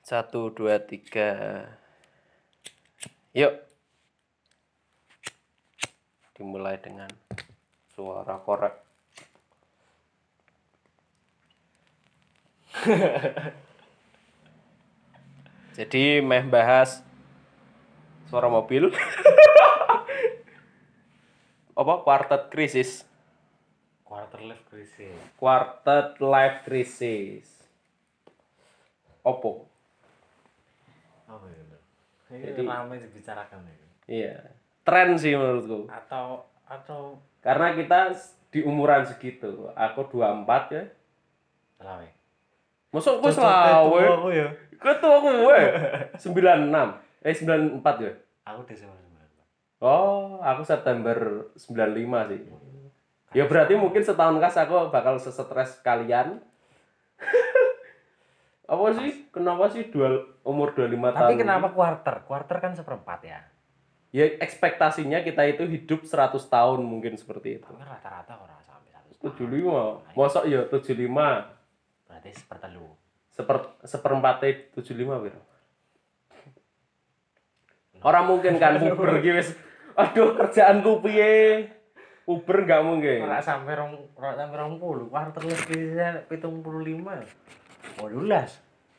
Satu, dua, tiga. Yuk. Dimulai dengan suara korek. Jadi meh bahas suara mobil. Apa? Quartet krisis. Quarter life crisis. Quartet life crisis. Oppo. Apa itu? Jadi- Ini ramai dibicarakan ini. Iya. Tren sih menurutku. Atau Karena kita di umuran segitu. Aku 24 ya. selawe. Masuk gue Cocote selawe. tua aku ya. Ketua gue 96. 94 ya. Aku Desember 19. Oh, aku September 95 sih. Ya berarti mungkin setahun kas aku bakal sesetres kalian. Apa sih? Kenapa sih umur 25 Tapi tahun? kenapa quarter? Quarter kan seperempat ya. Ya ekspektasinya kita itu hidup 100 tahun mungkin seperti itu. Tapi rata-rata orang sampai 100 tahun. 75. Mosok ya 75. Berarti sepertelu. Seperempatnya 75 piro? Orang mungkin kan Uber gitu wis. Aduh kerjaanku piye? Uber enggak mungkin. Ora sampai 20. Quarter life crisisnya 75. 18.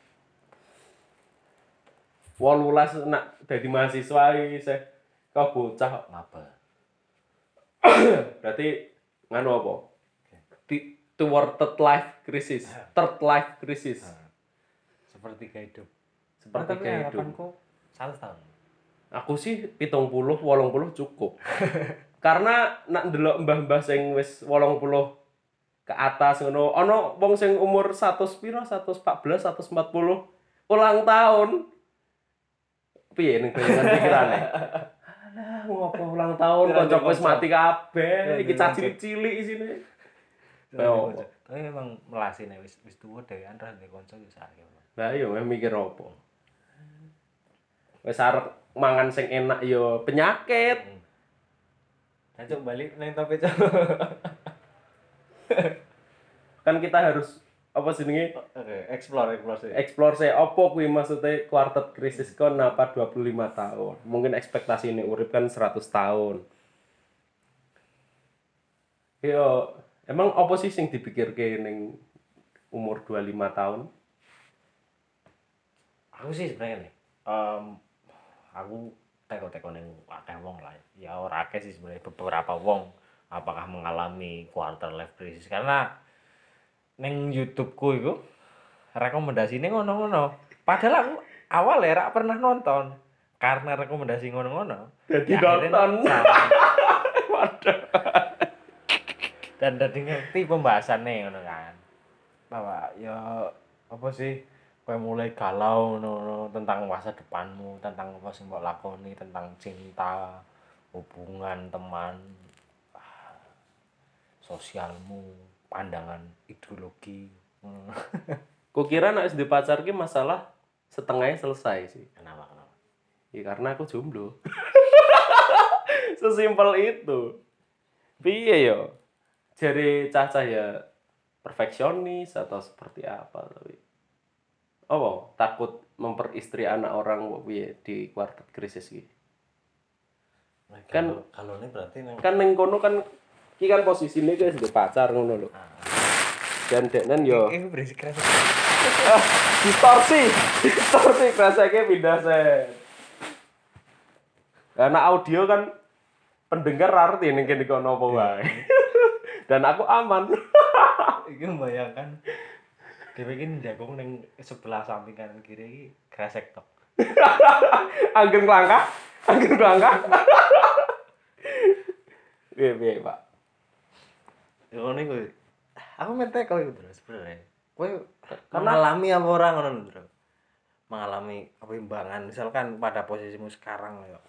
18 nak dadi mahasiswa iki sih. Kau bocah kok. Ngapa? Berarti nganu apa? Toward third life crisis. Third life crisis. Seperti hidup. Seperti Tapi kayak hidup. harapanku 100 tahun. Aku sih 70, 80 cukup. Karena nak ndelok mbah-mbah sing wis 80 ke atas ngono, ana wong sing umur 100 piro, 114, 140 ulang tahun. Piye ning bayangan pikirane? Alah, ngopo ulang tahun kancaku wis mati kabeh, iki caci cilik isine. Tapi memang melasine wis tuwa dhewean ra ndek kanca yo sakit. Lah iya mikir opo. Wis arep mangan sing enak ya penyakit. Cocok balik nang topik. Kan kita harus apa jenenge Oke, explore sih. explore sih opo kuwi maksudnya quartet krisis kon apa 25 tahun. Mungkin ekspektasi ini urip kan 100 tahun. Yo, emang opo sih sing dipikirke ning umur 25 tahun? Aku sih sebenarnya nih, aku teko ning akeh wong lah. Ya ora akeh sih sebenarnya beberapa wong apakah mengalami quarter life crisis karena ning YouTube-ku iku rekomendasine ngono-ngono. Padahal aku awal ya ora pernah nonton karena rekomendasi ngono-ngono. Jadi ya akhirnya nonton. Waduh. Dan dadi ngerti pembahasannya ngono kan. Bahwa ya apa sih kowe mulai galau ngono tentang masa depanmu, tentang apa sing mbok lakoni, tentang cinta, hubungan, teman, sosialmu, pandangan ideologi. Kukira nek SD pacar ki masalah setengahnya selesai sih. Kenapa? Ya karena aku jomblo. Sesimpel itu. Piye yo? Jare cah-cah ya perfeksionis atau seperti apa tapi takut memperistri anak orang kok piye di quartet krisis iki. Kan Kalau ini berarti kan ning kono kan iki kan posisine ki SD pacar ngono lho. Dan deknen yo ini berisik keras. distorsi kreseke pindah set. Karena audio kan pendengar arti ning kene kono apa wae. Dan aku aman. Iki membayangkan dhewe iki njagong ning sebelah samping kanan kiri iki kresek tok. Angger langkah. Piye, Pak? Ya ngono iku. Aku mentek kowe iku terus sebenarnya. Kowe mengalami apa ora ngono lho, Bro? Mengalami kebimbangan misalkan pada posisimu sekarang ya.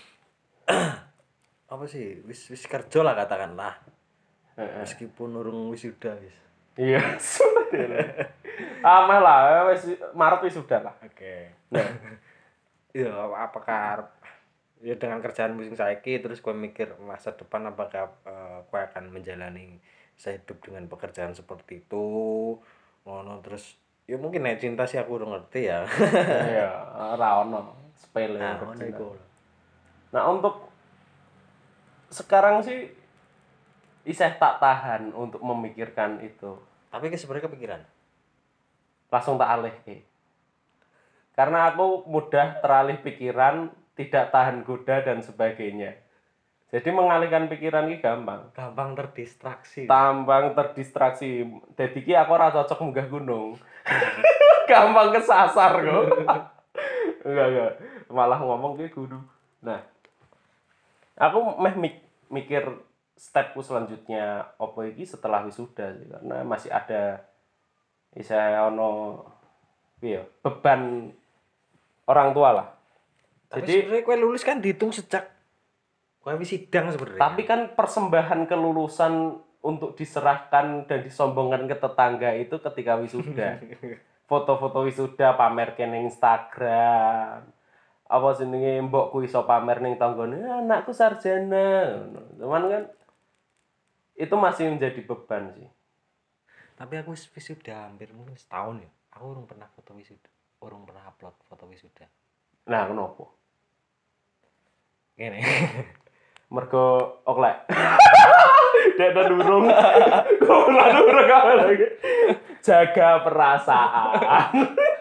Apa sih? Wis kerja lah katakanlah. Meskipun urung wisuda wis. Iya, sudah. Amal lah, wis Maret wis sudah lah. Oke. Nah, ya apakah ya dengan kerjaan musim saiki terus kowe mikir masa depan apakah kowe akan menjalani sehidup dengan pekerjaan seperti itu ngono terus Ya mungkin nek cinta sih aku udah ngerti ya. Iya, ora ono sepele. Nah, untuk ngono cinta. iku. Nah, untuk sekarang sih isih tak tahan untuk memikirkan itu. Tapi ki sebenarnya kepikiran. Langsung tak alih. Karena aku mudah teralih pikiran, tidak tahan goda dan sebagainya. Jadi mengalihkan pikiran ini gampang. Gampang terdistraksi. Tambang terdistraksi. Jadi ki aku ora cocok munggah gunung. Gampang kesasar kok. Enggak. Malah ngomong ki kudu. Nah, aku mikir stepku selanjutnya opo iki setelah wisuda sih. Karena masih ada ono piye beban orang tua lah. Tapi Jadi sebenarnya kue lulus kan dihitung sejak kue sidang sebenarnya. tapi kan persembahan kelulusan untuk diserahkan dan disombongkan ke tetangga itu ketika wisuda. Foto-foto wisuda pamer ke ning Instagram. Apa jenenge mbokku iso pamer ning tanggane, anakku sarjana. Cuman kan itu masih menjadi beban sih. Tapi aku wisuda hampir mungkin setahun ya. Aku urung pernah foto wisuda. Urung pernah upload foto wisuda. Nah, kenapa? Gini. Mergo oklek. Dek durung. Goblok durung kawe lagi. Jaga perasaan.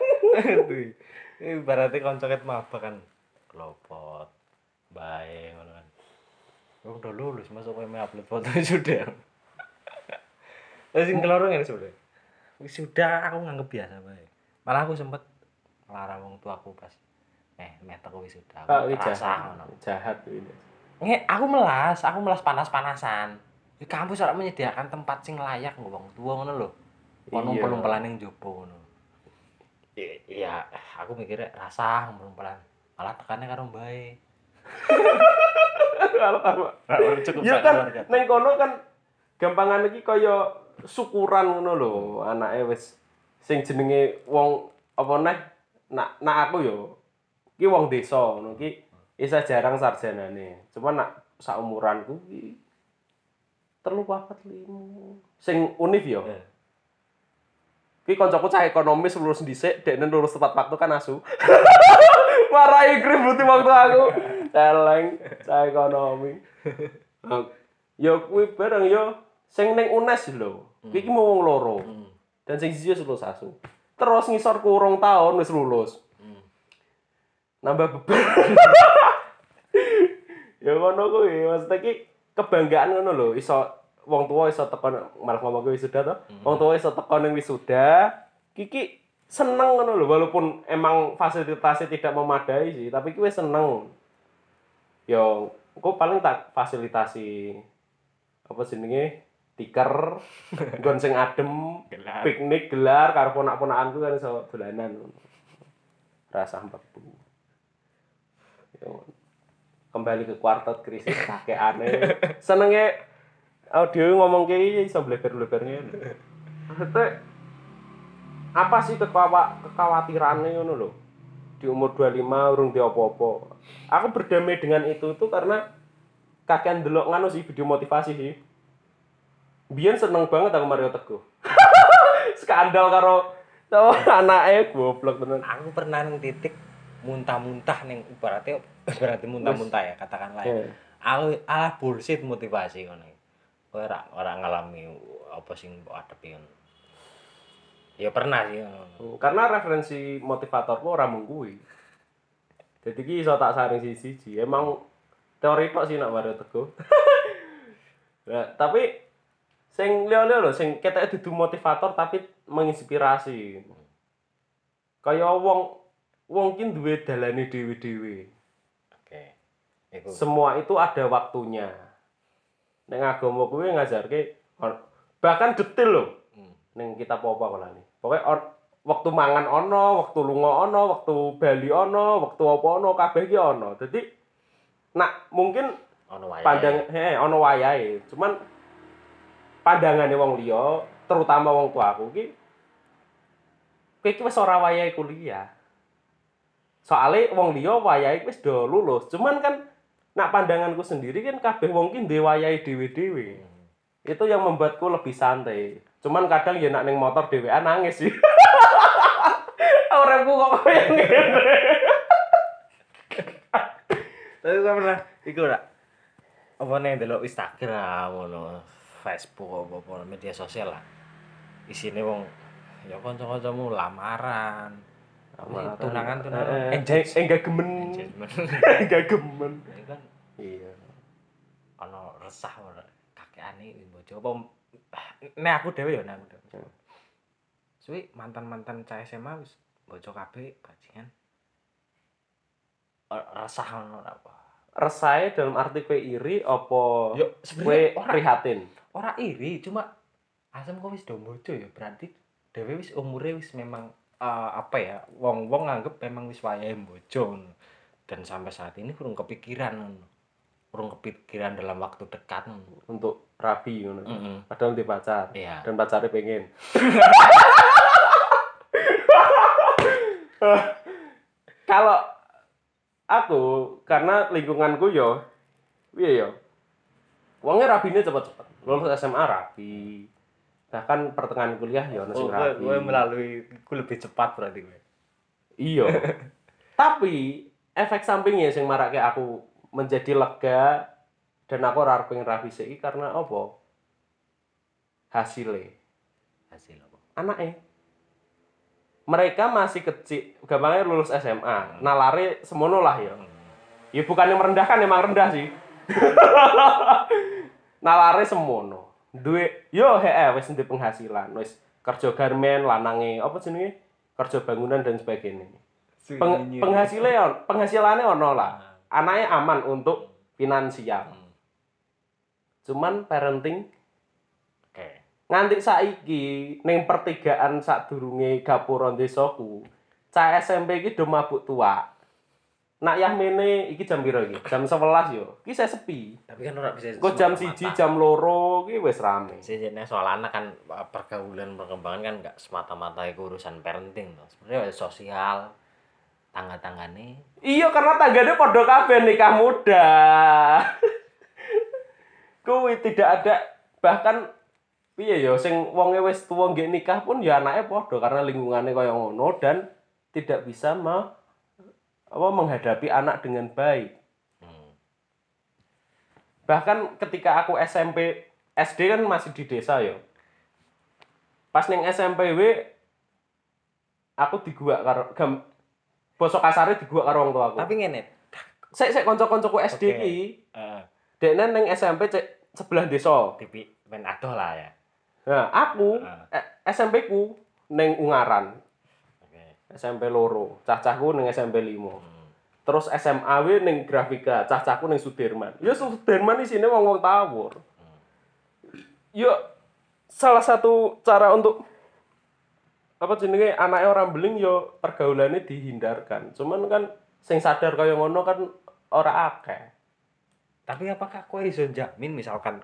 Ini berarti koncoket maba kan kelopot. Bae ngono kan. Aku udah lulus masuk kowe upload foto wisuda. Terus sing keloro ngene sebenarnya. Wisuda aku nganggep biasa bae. Malah aku sempet ngelarang wong tuaku pas meh teko wisuda. Iki Rasa ngono. jahat ini. Aku melas panas-panasan. Di kampus ora menyediakan tempat sing layak nggo wong tuwa ngono lho. Kon Iya. ngumpul-ngumpulan ning jaba ngono. Iya, aku mikirnya rasa ngumpul-ngumpulan. Malah tekane karo mbae. Kalau Cukup ya kan ning kono kan gampangan iki kaya syukuran ngono lho, anake wis sing jenenge wong apa neh nak aku yo iki wong desa ngono iki isa jarang sarjanane. Cuman nak saumuranku iki 3 4 5 sing univ yo. Ki kancaku cah ekonomis lulus dhisik, dekne lulus tepat waktu kan asu. Marahi kributi waktu aku. Celeng cah ekonomi. Yo kuwi bareng yo sing ning UNES lho. Iki mau wong loro. Dan sing siji wis lulus asu. Terus ngisor kurung tahun wis lulus. Nambah beban. Ya ngono kuwi, maksudnya ki kebanggaan ngono lho, iso wong tua iso teko malah ngomong ke wisuda to. Wong tua iso teko ning wisuda, Kiki seneng ngono lho walaupun emang fasilitasnya tidak memadai sih, tapi ki wis seneng. Yo, engko paling tak fasilitasi apa jenenge? Tiker, nggon sing adem, piknik gelar karo ponak-ponakanku kan iso dolanan. Rasa mbebu. Yo. Kembali ke kuartet krisis kakekane. Senenge audio ngomong kayak iso bleber-blebernya. Maksudnya apa sih kekhawatirannya ngono lho? Di umur 25 urung di apa-apa. Aku berdamai dengan itu tuh karena kakean delok nganu sih video motivasi sih. Biyen seneng banget aku Mario Teguh. Skandal karo anake goblok tenan. Aku pernah nang titik muntah-muntah ning berarti muntah-muntah ya katakanlah ya. Aku alah bullshit motivasi ngono. Kowe ora ngalami apa sing mbok adepi ngono. Ya pernah sih ngono. Karena referensi motivatorku ora mung kuwi. Jadi ki iso tak saring siji-siji. Emang teori tok sih nak Mario Teguh. Nah, tapi sing liya-liya lho sing keteke dudu motivator tapi menginspirasi. Kaya wong ki duwe dalane dhewe-dhewe. Oke. Iku. Semua itu ada waktunya. Ning agama kuwi ngajarke bahkan detail lho. Ning kitab apa kolane. Pokoke waktu mangan ono, waktu lunga ono, waktu bali ono, waktu apa ono, kabeh ki ono. Dadi nak mungkin Ono wayahe. Ono wayahe. Cuman pandangane wong liya, terutama wong tuaku ki kowe iki wis ora wayahe kuliah. Soale wong liya wayahe wis do lulus. Cuman kan nak pandanganku sendiri kan kabeh wong ki duwe wayahe dhewe-dhewe. Itu yang membuatku lebih santai. Cuman kadang ya nak ning motor dhewean nangis sih. Uripku kok koyo ngene. Tapi kok pernah iku ora? Apa nih delok Instagram ngono, Facebook apa media sosial lah. Isine wong ya kanca-kancamu lamaran. Tunangan Enggak gemen. engagement. Enggak gemen. Ini kan Iya. ana resah ora kakekane bojo apa nek aku dhewe ya nek aku dhewe. Suwi mantan-mantan cah SMA wis bojo kabeh bajingan. Resah ngono apa? Resahe dalam arti kowe iri apa Yo kowe sebenarnya prihatin? ora iri, cuma asem kok wis do bojo ya berarti dhewe wis umure wis memang apa ya, wong-wong nganggep memang wis wayahe bojo ngono. Dan sampai saat ini kurang kepikiran ngono. Kurang kepikiran dalam waktu dekat ngono. Untuk rabi ngono. Mm-mm. Padahal di pacar. Iya. Dan pacarnya pengen. Kalau aku karena lingkunganku yo piye yo. Wonge rabine cepet-cepet. Lulus SMA rabi. Bahkan pertengahan kuliah yo ono sing rabi. Kowe melalui ku lebih cepat berarti kowe. Iya. Tapi efek sampingnya sing marake aku menjadi lega dan aku ora pengen rabi sik karena apa? Hasilnya. Hasil apa? Anaknya. Mereka masih kecil, gampangnya lulus SMA. Nalare semono lah ya. Ya bukan yang merendahkan, emang rendah sih. Nalare semono. Duwe yo wis ndek penghasilan, wis kerja garmen, lanange apa jenenge? Kerja bangunan dan sebagainya. Penghasilannya ono lah. Anaknya aman untuk finansial. Cuman parenting Oke. nganti saiki ning pertigaan sadurunge gapura desaku, cah SMP iki do mabuk tua. Nak yahmene iki jam piro iki? Jam 11 yo. Iki saya sepi. Tapi kan ora bisa. Kok jam 1, jam 2 iki wis rame. Sebenarnya soal anak kan pergaulan perkembangan kan nggak semata-mata itu urusan parenting tuh. Sebenarnya sosial, tangga-tanggane. Iya karena tanggane padha kabeh nikah muda. Kuwi tidak ada bahkan piye ya sing wonge wis tuwa nggih nikah pun ya anake padha karena lingkungannya kaya ngono dan tidak bisa menghadapi anak dengan baik. Bahkan ketika aku SMP, SD kan masih di desa ya. Pas ning SMP aku diguak karo basa kasare diguak karo wong tuaku. Tapi ngene. Sik kanca-kancaku SD iki, dekne ning SMP sebelah desa. TV men adoh lah ya. Nah, aku SMP ku ning Ungaran. SMP loro, cah-cahku ning SMP 5. Terus SMA ning Grafika, cah-cahku ning Sudirman. Ya Sudirman isine wong-wong tawur. Ya salah satu cara untuk apa jenenge anake orang beling ya pergaulane dihindarkan. Cuman kan sing sadar kaya ngono kan ora akeh. Tapi apakah kowe iso jamin misalkan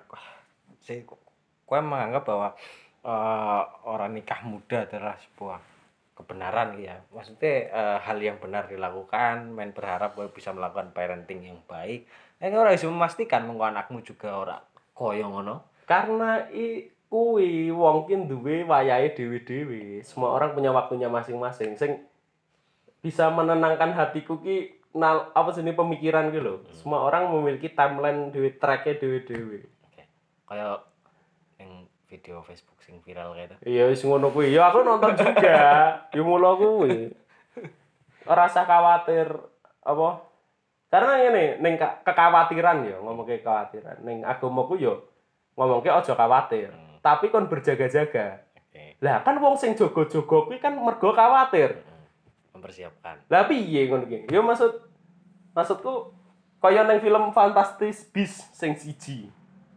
kowe menganggap bahwa orang nikah muda adalah sebuah kebenaran ya. Maksudnya hal yang benar dilakukan, main berharap kowe bisa melakukan parenting yang baik. Ora iso memastikan mengko anakmu juga ora koyo ngono. Karena kuwi wong ki duwe wayahe dhewe-dhewe. Semua orang punya waktunya masing-masing. Sing bisa menenangkan hatiku ki apa jenenge pemikiran ki lho. Semua orang memiliki timeline dhewe, track-e dhewe-dhewe. Oke. Kayak yang video Facebook sing viral kayak itu. Iya wis ngono kuwi. Ya aku nonton juga. Ya mula kuwi. Ora usah khawatir apa? Karena ngene, ning kekhawatiran ya, ngomongke kekhawatiran. Ning agamaku ya ngomongke aja khawatir, tapi kon berjaga-jaga. Lah kan wong sing jaga-jaga kuwi kan mergo khawatir. Mempersiapkan. Lah piye ngono ki? Ya maksudku kaya ning film Fantastic Beasts sing siji.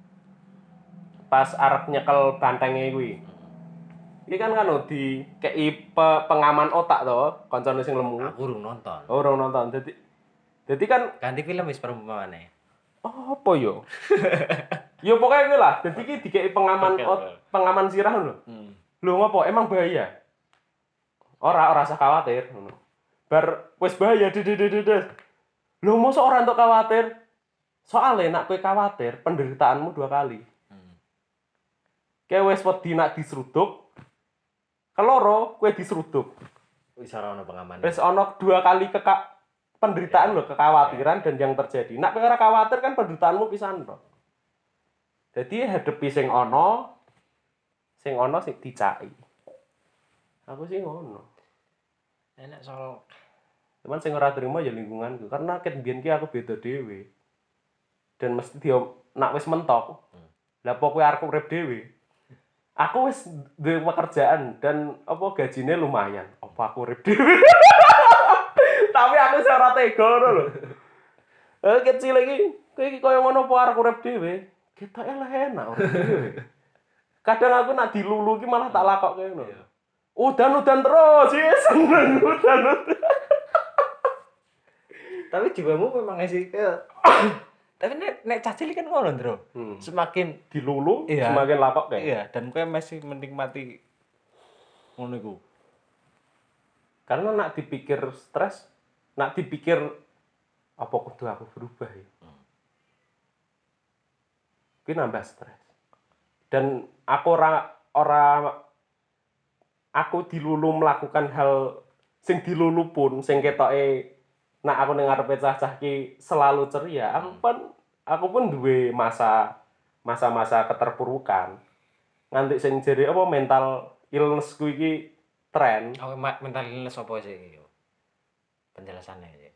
Pas arep nyekel bantenge kuwi. Iki kan dikei pengaman otak to, kancane sing lemu. Aku urung nonton. Oh, urung nonton. Dadi kan Ganti film wis perumpamane. apa yo? Ya pokoknya kuwi lah. Dadi iki dikei pengaman sirah lho. Lho ngopo? Emang bahaya? Ora usah khawatir ngono. Bar wis bahaya dedededes. Lho mosok ora entuk khawatir. Soale nek kowe khawatir, penderitaanmu 2 kali. Kowe wis wedi nak diseruduk. Keloro kowe diseruduk. Wis ora ono pengaman. Wis ono 2 kali penderitaan lho, kekhawatiran dan yang terjadi. Nek kowe ora khawatir kan penderitaanmu pisan to. Jadi hadepi sing ono sing dicaki. Aku sih ngono. Enak soal Cuman sing ora trimo ya lingkunganku karena ket biyen ki aku beda dhewe. Dan mesti dia nak wis mentok. Lah pokoke arep urip dhewe. Aku wis duwe pekerjaan dan apa gajine lumayan. Apa aku urip dhewe? Tapi aku wis ora tega ngono lho. Kecil iki kowe iki koyo ngono apa arep urip dhewe? Ketoke lah enak urip dhewe. Kadang aku nak dilulu ki malah tak lakokke ngono. Udan-udan terus, sih seneng udan. tapi jiwamu memang sih tapi nek cah cilik kan ngono, Bro. Semakin Dilulu, iya, semakin lakok kayak. Iya, dan kowe masih menikmati ngono iku. Karena nak dipikir stres, nak dipikir apa kudu aku berubah ya. Ki nambah stres. Dan aku aku dilulu melakukan hal sing dilulu pun sing ketoke nak aku ning ngarepe cah-cah ki selalu ceria, aku pun duwe masa-masa keterpurukan. Nganti sing jere apa mental illness ku iki tren. Oh, mental illness apa sih iki? Penjelasannya sih.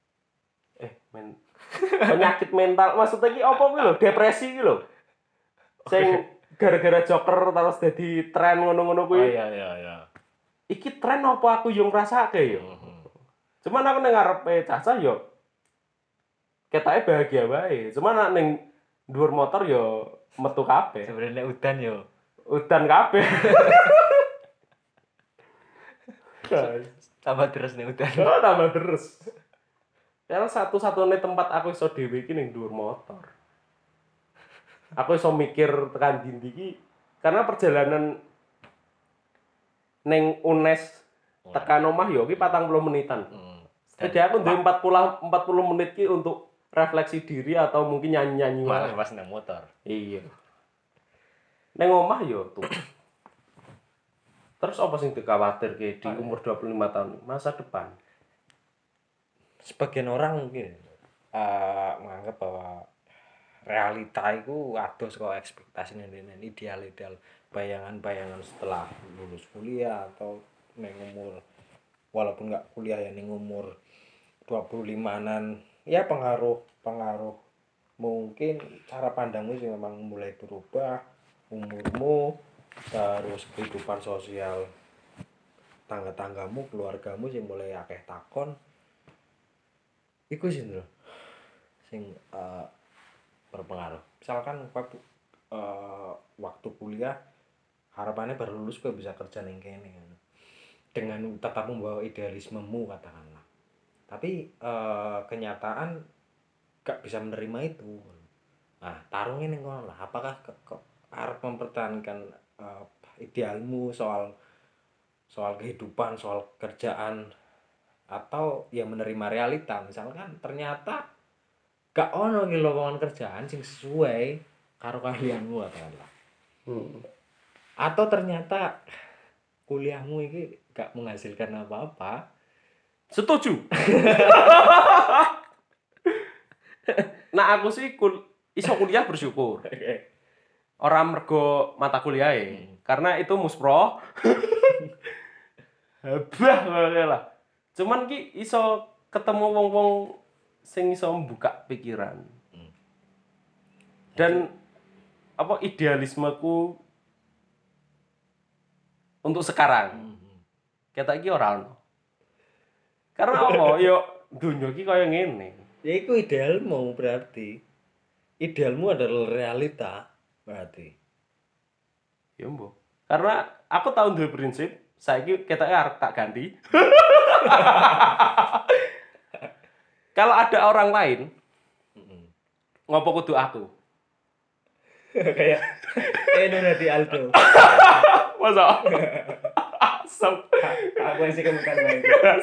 Penyakit mental maksudnya ki apa kuwi lho, depresi ki lho. Sing gara-gara Joker terus dadi tren ngono-ngono kuwi. Oh iya. Iki tren apa aku yo ngrasake yo. Cuman aku ning ngarepe cacah yo ketoke bahagia wae. Cuman nek ning dhuwur motor yo metu kabeh. Sebenarnya udan yo. Udan kabeh. Tambah terus nih udan. Oh, tambah terus. Karena satu-satunya tempat aku iso dhewe iki ning dhuwur motor. Aku iso mikir tekan ndi iki karena perjalanan ning UNES tekan omah yo ki 40 menitan. Jadi aku duwe 40 menit ki untuk refleksi diri atau mungkin nyanyi-nyanyi malah pas nang motor. Iya. Neng omah yo tuh. Terus apa sing dikhawatirke di umur 25 tahun masa depan? Sebagian orang mungkin menganggap bahwa realita itu adoh saka ekspektasi ning ideal-ideal bayangan-bayangan setelah lulus kuliah atau ning umur walaupun nggak kuliah ya ning umur 25-an ya pengaruh mungkin cara pandangmu sih memang mulai berubah, umurmu terus kehidupan sosial tangga-tanggamu, keluargamu sing mulai akeh takon iku sih lho sing berpengaruh. Misalkan waktu kuliah harapannya baru lulus kowe bisa kerja ning kene dengan tetap membawa idealismemu katakanlah. Tapi kenyataan gak bisa menerima itu. Nah, tarungnya ning kono lah. Apakah kok arep mempertahankan idealmu soal kehidupan, soal kerjaan atau ya menerima realita. Misalkan ternyata gak ono iki lowongan kerjaan sing sesuai karo keahlianmu katakanlah. Atau ternyata kuliahmu iki gak menghasilkan apa-apa. Setuju. Nah aku sih iso kuliah bersyukur. Orang mergo mata kuliah karena itu muspro. Habah ngono lah. Cuman ki iso ketemu wong-wong sing iso membuka pikiran. Dan apa idealismeku untuk sekarang. Ketok iki ora ono. Karena apa? Yo dunya iki kaya ngene. Ya iku idealmu berarti. Idealmu adalah realita berarti. Ya mbok. Karena aku tahu duwe prinsip, saiki ketoke arep tak ganti. Kalau ada orang lain, ngopo kudu aku? Kayak Nona di Aldo. Masa? Asam. Aku yang sih kebukan main.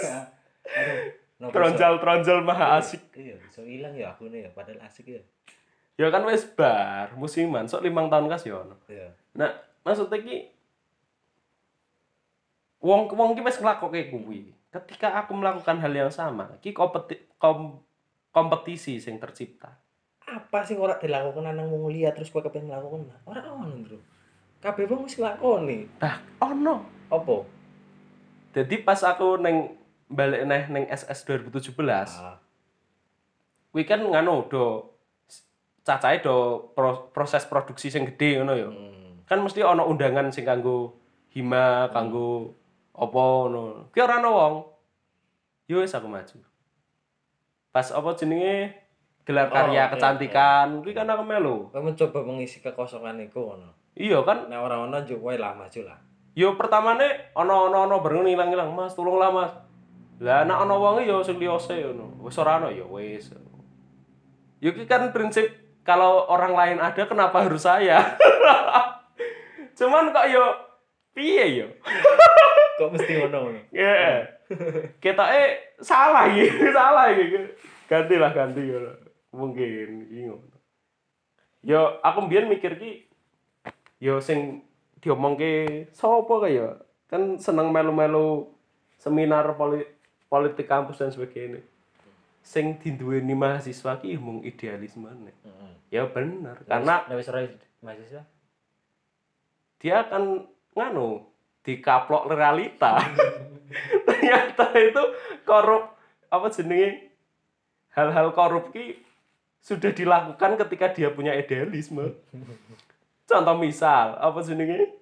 Tronjol maha asik. Iya, so hilang ya aku nih ya, padahal asik ya. Ya kan wis bar musiman, sok 5 tahun kas ya ono. Iya. Nah, maksudnya ki Wong ki wis nglakokke kuwi. Ketika aku melakukan hal yang sama, ki kompetisi sing tercipta. Apa sing ora dilakukan nang wong liya terus kowe kepengin nglakukan? Ora ono, Bro. Kabeh wong wis nglakoni. Ono. Apa? Jadi pas aku balik neng SS 2017, kuwi kan nganu do cacahe do proses produksi sing gede ngono ya. Kan mesti ono undangan sing kanggo hima, kanggo apa ngono. Ki ora ono wong. Yo wis aku maju. Pas apa jenenge gelar karya kecantikan, kuwi kan aku melu. Kowe mencoba mengisi kekosongan iku ngono. Iya kan? Nek ora ono yo kowe lah maju lah. Yo pertamane ono bareng ilang-ilang, Mas, tulunglah Mas. Lah nek ono wong yo sing liyose ngono. Wis ora ono ya wis. Yo ki kan prinsip kalau orang lain ada kenapa harus saya? Cuman kok yo piye yo? Kok mesti ngono. Ya. Ketoke salah iki. Ganti ngono. Mungkin iki ngono. Yo aku mbiyen mikir ki yo sing diomongke sapa kaya kan seneng melu-melu seminar politik kampus dan sebagainya. Sing diduweni mahasiswa ki mung idealisme. Ya bener, karena wis ora mahasiswa. Dia akan nganu dikaplok realita. Ternyata itu korup apa jenenge? Hal-hal korup ki sudah dilakukan ketika dia punya idealisme. Contoh misal, apa jenenge?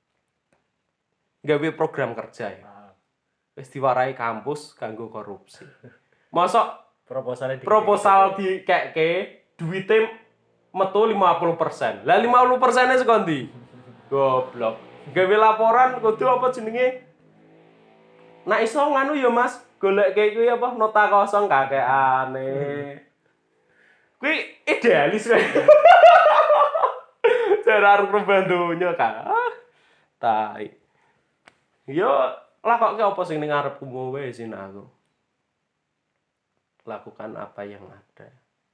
Gawe program kerja ya. Wis diwarai kampus kanggo korupsi. Mosok proposal dikekke duwite metu 50%. Lah 50%-e saka ndi? Goblok. Gawe laporan kudu apa jenenge? Nek iso nganu ya Mas, goleke kuwi apa nota kosong kakekane. Kuwi idealis kowe. Cara arep bandonya kan. Tai. Yo lakoke apa sing ning ngarepku wae sih aku. Lakukan apa yang ada.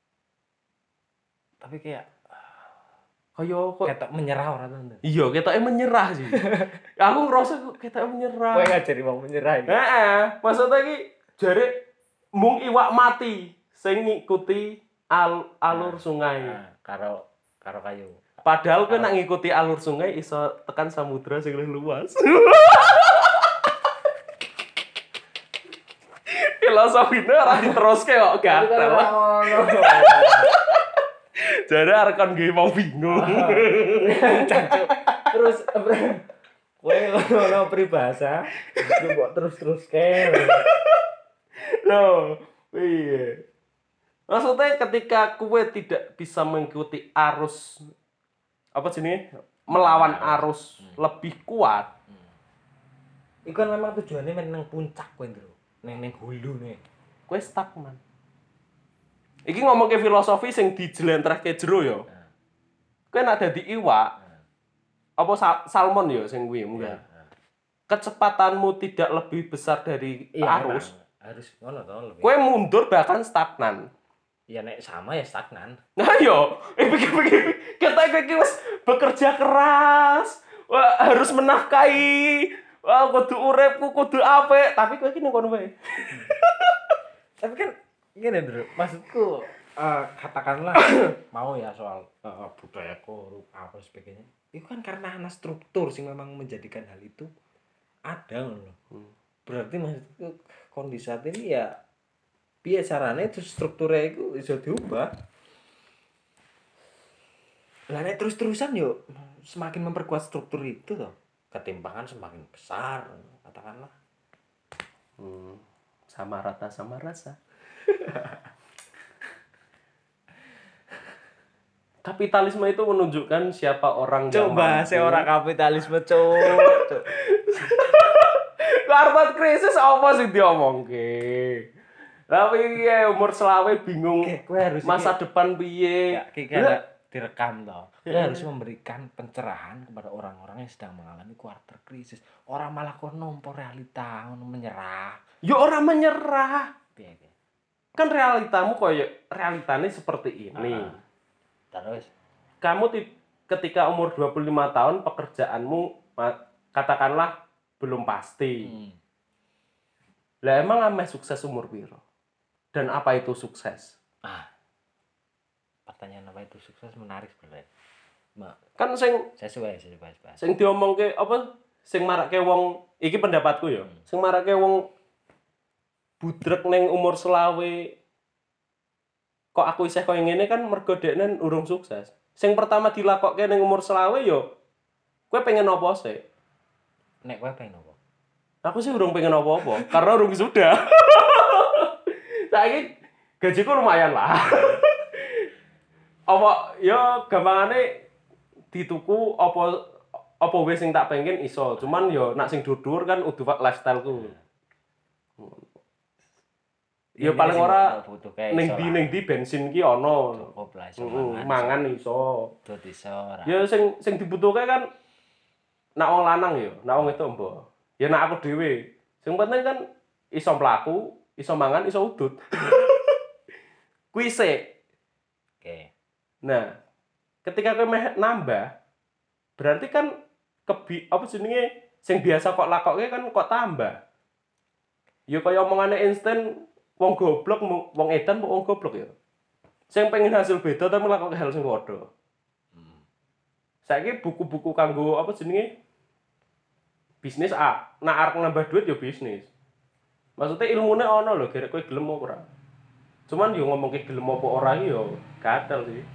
Tapi kayak Kok ketok menyerah ora to? Iya, ketoke menyerah sih. Aku ngerasa kok ketoke menyerah. Kowe ngajari wong menyerah iki. Heeh, maksudnya iki jare mung iwak mati sing ngikuti alur sungai. Karo kayu. Padahal kowe nak ngikuti alur sungai iso tekan samudra sing luwih luas. Filosofine ora diteruske kok gatel. Jare arek kon nggih wong bingung. Cancuk. Terus kowe ngono peribahasa, mbok terus-teruske. Loh, iya. Maksudnya ketika kowe tidak bisa mengikuti arus apa jenenge? Melawan arus lebih kuat. Iku kan memang tujuannya nang puncak kowe, Ndro. Neng hulune. Kowe stagnan. Iki ngomongke filosofi sing dijlentrehke jero ya. Kowe nek dadi iwak apa salmon ya sing kuwi munggah. Kecepatanmu tidak lebih besar dari arus. Harus ngono to lebih. Kowe mundur bahkan stagnan. Ya nek sama ya stagnan. Nah yo, pikir-pikir kita iki wis bekerja keras. Wah, harus menafkahi. Wah, kudu uripku kudu apik, tapi kowe iki ning kono wae. Tapi kan gini Bro, maksudku katakanlah mau ya soal budaya korup apa sebagainya. Itu kan karena ana struktur sing memang menjadikan hal itu ada loh. Berarti maksudku kondisi saat ini ya piye carane itu strukturnya itu bisa diubah. Lah nek terus-terusan yo semakin memperkuat struktur itu toh, ketimpangan semakin besar katakanlah. Sama rata sama rasa. Kapitalisme itu menunjukkan siapa orang yang coba seorang kapitalisme cuk. Karena krisis apa sih diomongke? Tapi ya umur selawe bingung masa depan piye. Direkam toh. Kowe harus memberikan pencerahan kepada orang-orang yang sedang mengalami quarter krisis. Orang malah kok nompo realita ngono menyerah. Ya orang menyerah. Piye? Kan realitamu koyo realitane seperti ini. Terus Kamu ketika umur 25 tahun pekerjaanmu katakanlah belum pasti. Hmm. Lah emang ameh sukses umur piro? Dan apa itu sukses? Pertanyaan apa itu sukses menarik sebenarnya. Kan sing Sesuai. sing diomongke apa? Sing marake wong iki pendapatku ya. Sing marake wong budrek ning umur selawe kok aku isih koyo ngene kan mergo dekne urung sukses. Sing pertama dilakokke ning umur selawe yo kowe pengen apa sih? Nek kowe pengen apa? Aku sih urung pengen apa-apa karena urung sudah. Saiki gajiku lumayan lah. Apa ya gampangane dituku apa wis sing tak pengen iso. Cuman yo nak sing dur-dur kan udah lifestyle-ku. Ya paling ora ning ndi bensin ki ana. Cukup lah iso Mangan iso. Dut iso ora. Ya sing dibutuhke kan nak wong lanang ya, nak wong itu mbok. Ya nak aku dhewe. Sing penting kan iso mlaku, iso mangan, iso udut. Kuwi sik. Oke. Nah, ketika kowe meh nambah, berarti kan apa jenenge sing biasa kok lakoke kan kok tambah. Ya kaya omongane Einstein, wong goblok wong edan wong goblok ya. Sing pengen hasil beda tapi lakoke hal sing padha. Saiki buku-buku kanggo apa jenenge bisnis nak arep nambah duit ya bisnis. Maksudnya ilmune ana lho, gerek kowe gelem apa ora. Cuman yo ngomongke gelem apa ora iki yo gatel sih.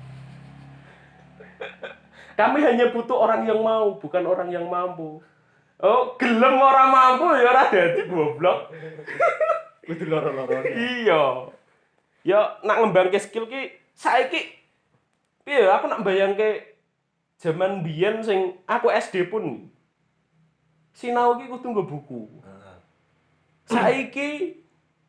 Kami hanya butuh orang yang mau, bukan orang yang mampu. Oh, gelem ora mampu ya ora dadi goblok. Kudu loro-lorone. Iya. Ya nak ngembangke skill ki saiki piye aku nak bayangke jaman biyen sing aku SD pun sinau ki kudu nggo buku. Saiki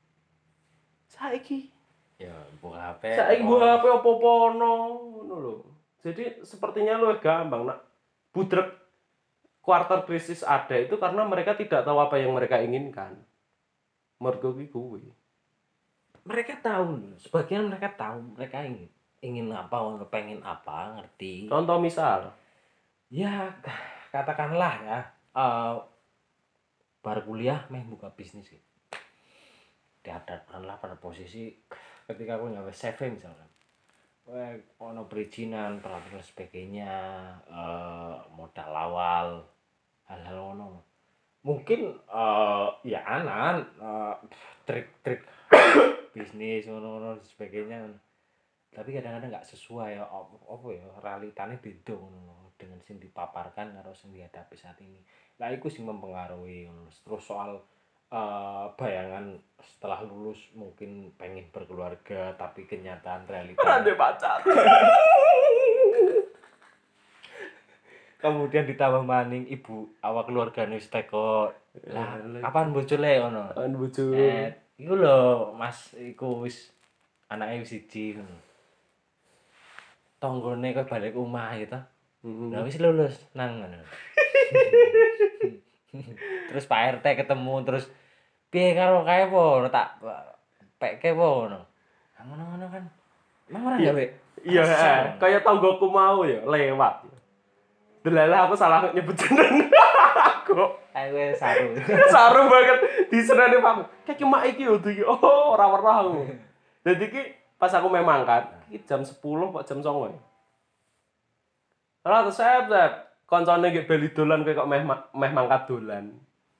Ya, buka HP. saiki gua HP opo-opo ono ngono lho. Jadi sepertinya lu gampang nak budrek quarter krisis ada itu karena mereka tidak tahu apa yang mereka inginkan. Mergo kuwi. Mereka tahu, sebagian mereka tahu mereka ingin apa, pengen apa, ngerti. Contoh misal, Ya, katakanlah ya, baru kuliah buka bisnis gitu. Dihadapkanlah pada posisi ketika aku nyawa CV misalkan. Ono perizinan, peraturan sebagainya, modal awal, hal-hal ono. Mungkin ya trik-trik bisnis ono sebagainya. Tapi kadang-kadang nggak sesuai apa ya realitanya beda dengan sing dipaparkan karo sing dihadapi saat ini. Lah iku sing mempengaruhi. Terus soal bayangan setelah lulus mungkin pengen berkeluarga tapi kenyataan realita ada pacar. Kemudian ditambah maning ibu awak keluargane wis teko. Lah kapan bojone ngono? Kan bojo. Iku lho Mas iku wis anake wis siji ngono. Tanggane kok balik omah gitu. Lah wis lulus nang ngono. Terus Pak RT ketemu terus piye karo kae po tak pekke po ngono. Ngono-ngono kan. Emang ora gawe. Iya, kayak tanggoku mau ya lewat. Delalah aku salah nyebut jeneng aku. Ayo saru. Saru banget diserane Pak. Kayak mak iki yo iki. Oh, ora weruh aku. Dadi iki pas aku memang kan, iki jam 10 kok jam 09.00. Ora terus sep. Koncone nggih bali dolan kowe kok meh mangkat dolan.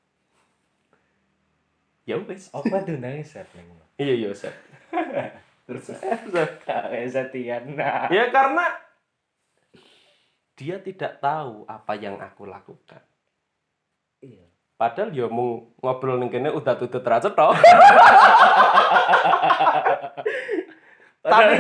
Ya wis. Apa diundangi set ning. Iya, Sep. Terus Kae setian. ya karena dia tidak tahu apa yang aku lakukan. Iya. Padahal ya mau ngobrol ning kene udah tutut ra cetok. Tapi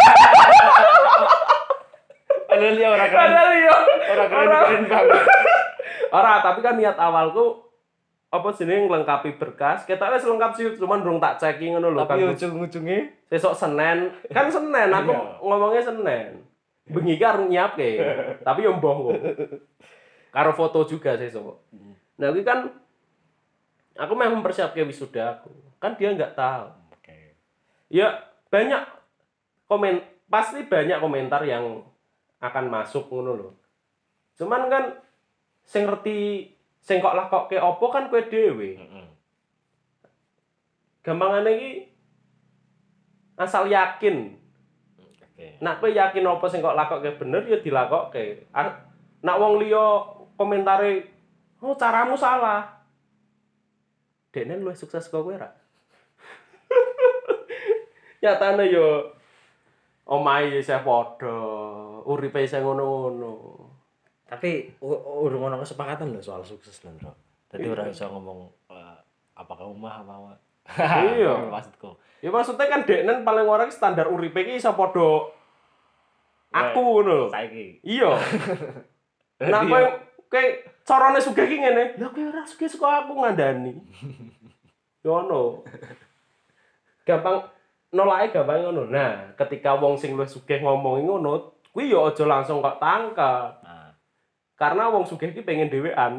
Padahal ya ora keren. Ora keren banget. Ora, tapi kan niat awalku apa jenenge nglengkapi berkas. Ketok wis lengkap sih, cuman durung tak checking ngono lho. Tapi ujung-ujunge Sesuk Senin, kan Senin aku ngomongnya Senin. Bengi iki arep nyiapke. Tapi yo mboh kok. Karo foto juga sesuk. Nah, iki kan aku memang mempersiapkan wisuda aku. Kan dia nggak tahu. Oke. Ya banyak pasti banyak komentar yang akan masuk ngono lho. Cuman kan sing ngerti Sing kok lakokke apa kan kowe dhewe. Heeh. Gampangane iki asal yakin. Oke. Nak kowe yakin apa sing kok lakokke bener ya dilakokke. Nak wong liya komentare, "Oh, caramu salah." Dekne luwih sukses kok kowe ra? Nyatane yo omahe isih padha, uripe isih ngono-ngono. Tapi urung ono kesepakatan lho soal sukses lho, Bro. Dadi ora iso ngomong apakah omah apa. Iya. Maksudku. Ya maksudnya kan deknen paling ora standar uripe iki iso padha aku ngono lho. Saiki. Iya. Nah kowe carane sugih ki ngene. Lah kowe ora sugih saka aku ngandani. Yo ngono. Gampang nolake gampang ngono. Nah, ketika wong sing luwih sugih ngomongi ngono, kuwi yo aja langsung kok tangkal. Nah, Karena wong sugih ki pengen dhewean.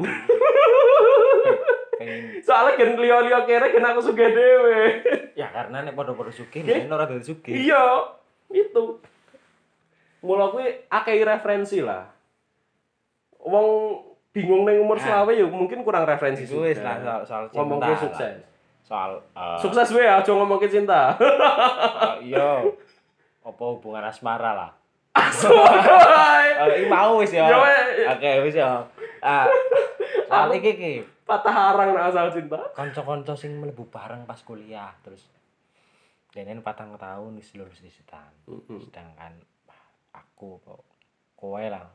pengen Soalnya gen liya-liya kere gen aku sugih dhewe. ya karena nek padha-padha sugih nek ora dadi sugih. Iya, itu. Mula kuwi akeh referensi lah. Wong bingung ning umur selawe ya mungkin kurang referensi Itu wis lah soal cinta. Ngomong kuwi sukses. Soal Sukses wae aja ngomongke cinta. iya. Apa hubungan asmara lah. Soalnya Iki mau wis ya. Ya, Oke, wis ya. Soal iki patah arang nek asal cinta. kanca-kanca sing mlebu bareng pas kuliah terus denen 4 tahun wis lulus disitan. Sedangkan aku kok kowe lah.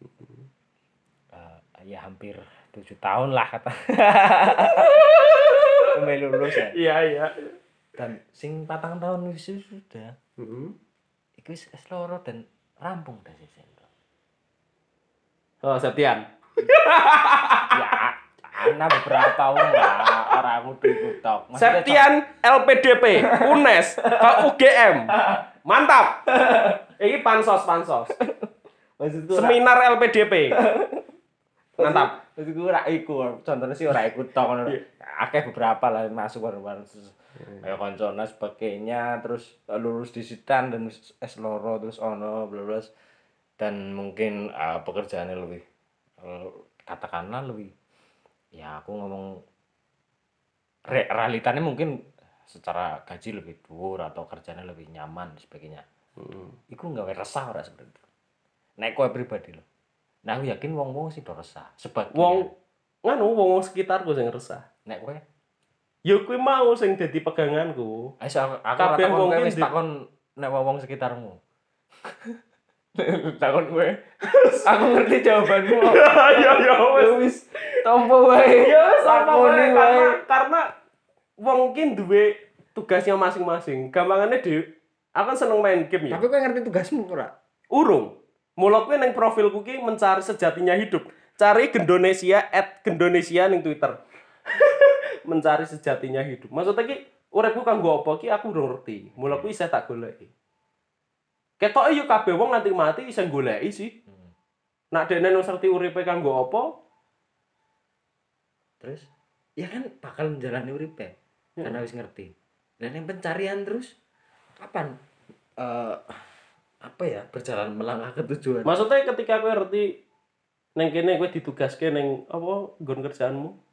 Ya hampir 7 tahun lah kata. Lulus ya. Iya. Dan sing 4 tahun wis sudah. Heeh. Iku wis S2 dan rampung dah sih. Oh, Septian. Ya, ana beberapa wong lah, ora kudu iku tok. Septian LPDP, UNES, UGM. Mantap. Iki pansos. Maksudku Seminar LPDP. Mantap. Maksudku ora iku, contohnya sih ora iku tok ngono. Akeh beberapa lah masuk baru kayak koncona sebagainya terus lulus disitan dan S2 terus ono blablas dan mungkin pekerjaannya lebih katakanlah lebih ya aku ngomong realitanya mungkin secara gaji lebih dhuwur atau kerjanya lebih nyaman dan sebagainya. Iku nggawe resah ora sebenarnya. Nek kowe pribadi lho. Nah aku yakin wong-wong sih do resah. Sebagian. Wong sekitarku sing resah. Nek kowe Ya kuwi mau sing dadi peganganku. Ayo aku Kabeh takon wong kowe ki wis takon nek wong sekitarmu. Takon kowe. Aku ngerti jawabanmu. Ya Wis tompo wae. Ya Takoni wae. karena wong ki duwe tugasnya masing-masing. Gampangane dhewe aku kan seneng main game ya. Tapi kowe ngerti tugasmu ora? Urung. Mula kuwi ning profilku ki mencari sejatinya hidup. Cari @gendonesia ning Twitter. Mencari sejatinya hidup. Maksudnya ki uripku kanggo apa ki aku urung ngerti. Mula kuwi isih tak goleki. Ketoke yo kabeh wong nganti mati isih goleki sih. Nak dekne wis ngerti uripe kanggo apa? Terus ya kan bakal menjalani uripe karena wis ngerti. Dan yang pencarian terus kapan apa ya berjalan melangkah ke tujuan. Maksudnya ketika kowe ngerti ning kene kowe ditugaske ning apa nggon kerjaanmu?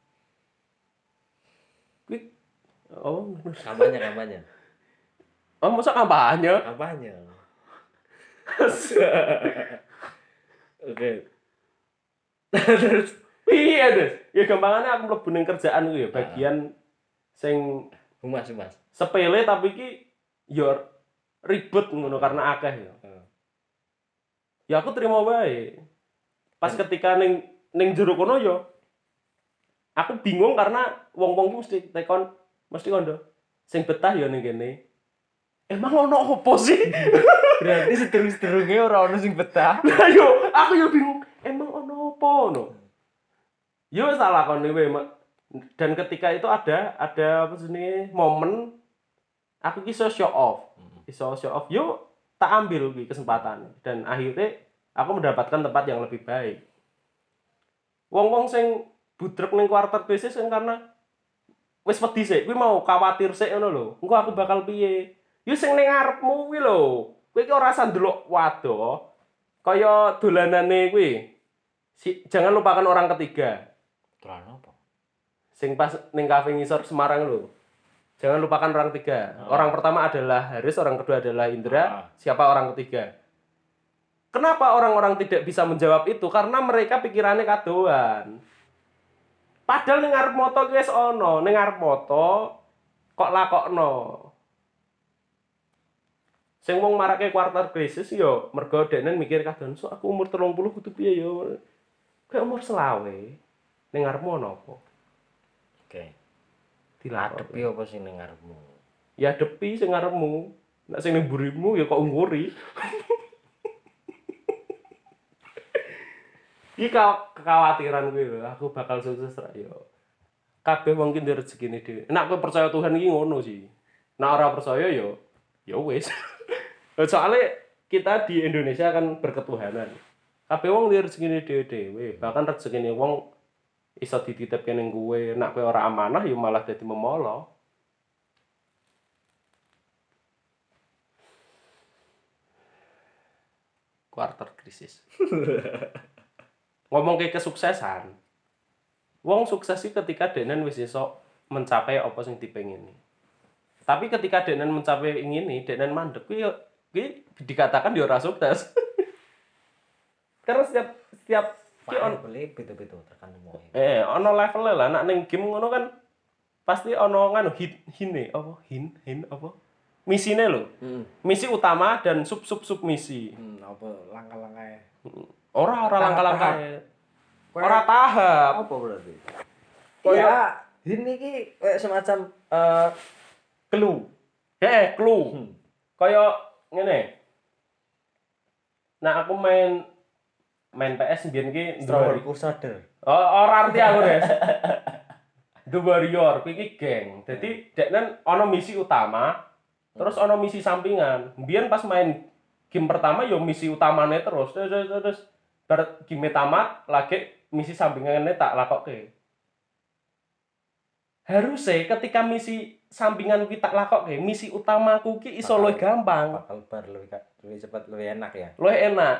Kuwi oh Kampanye. Oh, masa kampanye? Oke. Terus piye, Des? Ya gampangane aku mlebu ning kerjaan ku ya bagian sing Humas. sepele tapi iki ya ribet ngono karena akeh ya. Ya aku terima wae. Pas ketika ning jero kono ya aku bingung karena wong-wong ki mesti kondo sing betah ya ning kene. Emang ono opo sih? Berarti sedurung-sedurunge ora ono sing betah. Lah yo aku yo bingung. Emang ono opo no? Yo salah kon wae. Dan ketika itu ada apa jenenge momen aku ki iso show off. Yo tak ambil ki kesempatan dan akhirnya aku mendapatkan tempat yang lebih baik. Wong-wong sing budrek ning kuarter bisnis kan karena wis wedi sik, kuwi mau khawatir sik ngono lho. Engko aku bakal piye? Yo sing ning ngarepmu kuwi lho. Kowe iki ora usah ndelok waduh. Kaya dolanane kuwi. Jangan lupakan orang ketiga. Tulan apa? Sing pas ning kafe ngisor Semarang lho. Jangan lupakan orang tiga. Orang pertama adalah Haris, orang kedua adalah Indra, siapa orang ketiga? Kenapa orang-orang tidak bisa menjawab itu? Karena mereka pikirannya kadoan. Padahal ning arep moto ki wis ono, ning arep moto kok lakokno. Sing wong marake quarter crisis yo mergo denen mikir kadoan, "So aku umur 30 kudu piye yo?" Kayak umur selawe. Ning arep ono apa? Oke. Dilakoni. Adepi apa sing ning ngarepmu? Ya depi sing ngarepmu. Nek sing ning mburimu ya kok nguri. Iki kekhawatiran kuwi lho, aku bakal sukses ra yo. Kabeh wong ki ndek rezekine dhewe. Nek kowe percaya Tuhan iki ngono sih. Nek ora percaya yo ya wis. Soalnya kita di Indonesia kan berketuhanan. Kabeh wong ndek rezekine dhewe-dhewe, bahkan rezekine wong iso dititipke ning kowe. Nek kowe ora amanah ya malah dadi memolo. Quarter krisis. Ngomong ke kesuksesan. Wong sukses iki ketika denen wis iso mencapai apa sing dipengini. Tapi ketika denen mencapai ingini, denen mandek kuwi dikatakan dia ora sukses. Karena setiap ki on beda-beda tekan wong. ono level lah. Nek ning game ngono kan pasti ono nganu hine apa? Hin apa? Misine lho. Misi utama dan sub misi. Apa langkah-langkahe? Ora langkah-langkahe. Ora tahap. Apa berarti? Kaya ini ki semacam clue. clue. Kaya ngene. Nah, aku main PS mbiyen ki Stroller Crusader. Ora arti aku, Des. The Warrior kuwi iki geng. Dadi deknen ana misi utama, terus ana misi sampingan. Mbiyen pas main game pertama ya misi utamane terus bar game tamat lagi misi sampingannya tak lakokke. Harusnya ketika misi sampingan kuwi tak lakokke, misi utamaku ki iso luwih gampang. Bakal bar luwih cepat, luwih enak ya. Luwih enak.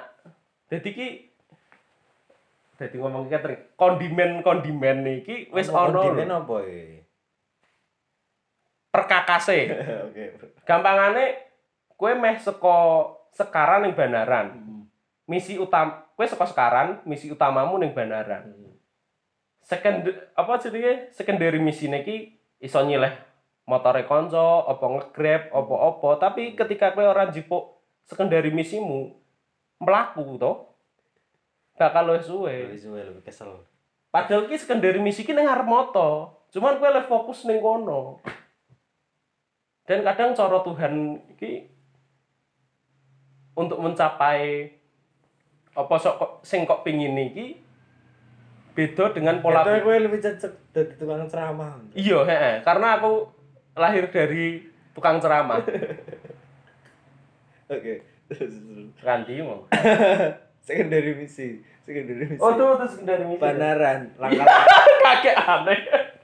Dadi ngomong catering, kondimen iki wis ana. Kondimen apa iki? Perkakase. Oke. Gampangane kowe meh saka Sekaran ning Banaran. Misi utama kowe saka Sekaran, misi utamamu ning Banaran. Secondary misine iki iso nyileh motore kanca, apa nge-grab, apa-apa, tapi ketika kowe ora njipuk secondary misimu mlaku to. Bakal luwih suwe. Lebih kesel. Padahal ki secondary misi ki ning arep moto. Cuman kowe luwih fokus ning kono. Dan kadang cara Tuhan iki untuk mencapai apa sing kok pengin iki beda dengan pola pikir. Kowe lebih cocok dadi tukang ceramah. Iya, karena aku lahir dari tukang ceramah. Oke. Ganti mau. Secondary misi. Oh, tuh secondary misi. Banaran, langkah kakek aneh.